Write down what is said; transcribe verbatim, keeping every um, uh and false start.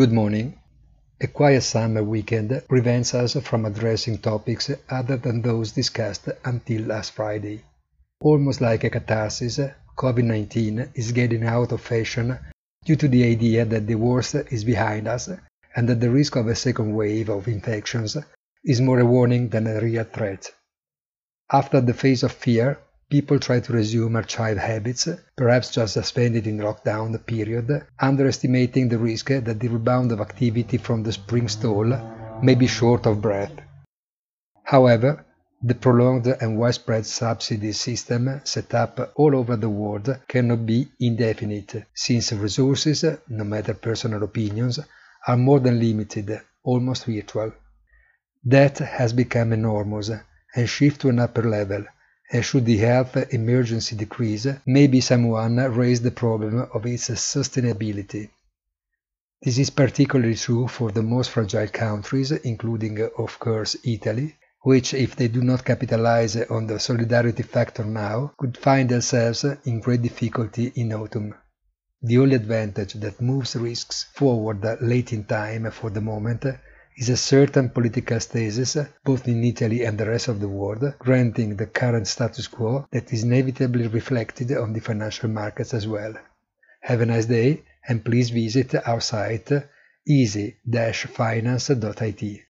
Good morning. A quiet summer weekend prevents us from addressing topics other than those discussed until last Friday. Almost like a catharsis, COVID nineteen is getting out of fashion due to the idea that the worst is behind us and that the risk of a second wave of infections is more a warning than a real threat. After the phase of fear, people try to resume archived habits, perhaps just suspended in lockdown period, underestimating the risk that the rebound of activity from the spring stall may be short of breath. However, the prolonged and widespread subsidy system set up all over the world cannot be indefinite, since resources, no matter personal opinions, are more than limited, almost virtual. Debt has become enormous and shift to an upper level, and should the health emergency decrease, maybe someone raise the problem of its sustainability. This is particularly true for the most fragile countries, including, of course, Italy, which, if they do not capitalize on the solidarity factor now, could find themselves in great difficulty in autumn. The only advantage that moves risks forward late in time for the moment is a certain political stasis, both in Italy and the rest of the world, granting the current status quo that is inevitably reflected on the financial markets as well. Have a nice day, and please visit our site easy dash finance dot I T.